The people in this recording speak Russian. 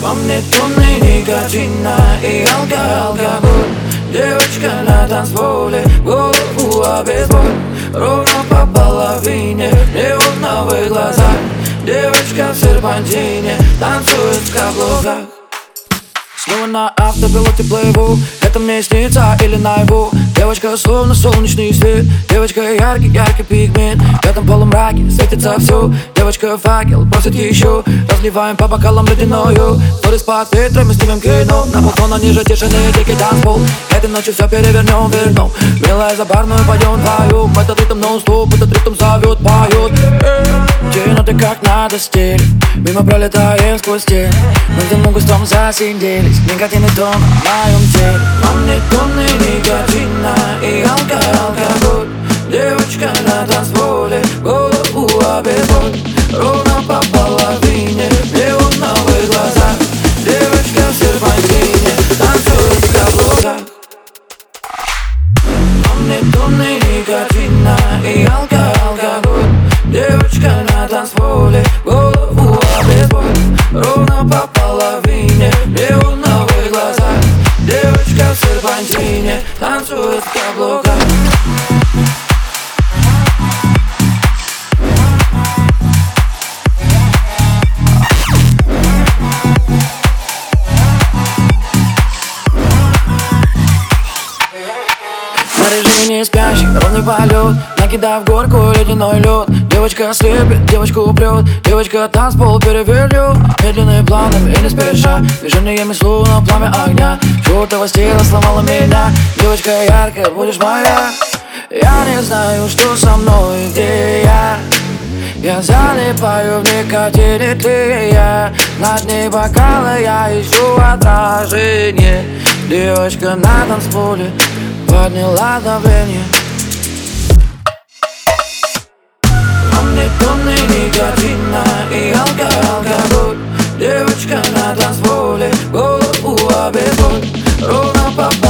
Во мне тонны никотина и алкоголь. Девочка на танцполе, голову обезболь. Ровно по половине, неоновые глаза. Девочка в серпантине, танцует в каблуках. Снова на автопилоте плыву. Это мне снится или наяву? Девочка словно солнечный свет. Девочка яркий пигмент. В этом полумраке светится все. Девочка факел просит еще. Разливаем по бокалам ледяною. Сторис под ветром, снимем кино. На балкона ниже тишины, дикий танцпол. Этой ночью все перевернем, вернем. Милая за барную пойдем вдвоем. Этот ритм нон-стоп, этот ритм зовет, поет. Ноты как надо стиль. Мимо пролетаем сквозь стены. Мы в густом засиделись. Никотин и тон в моем теле. Во мне тонны никотина и алкоголь. Девочка на танцполе, голову обезболь. Ровно по половине, неоновые глаза. Девочка в серпантине, танцует в каблуках. Во мне тонны никотина и алкоголь. Девочка на танцполе, голову обезболь. Ровно по половине, неоновые глаза. Девочка в серпантине, танцует в каблуках. Снаряжение спящий, ровный полет. Накидав горку ледяной лед. Девочка слепит, девочку прет. Девочка танцпол перевернет. Медленные планами и не спеша. Движениями словно пламя огня. Чёртова стена сломала меня. Девочка яркая, будешь моя. Я не знаю, что со мной, где я. Я залипаю в никотине, ты и я. На дне бокала я ищу отражение. Девочка на танцполе подняла давление. Во мне тонны никотина и алкоголь. Девочка на танцполе, голову обезболь. Ровно по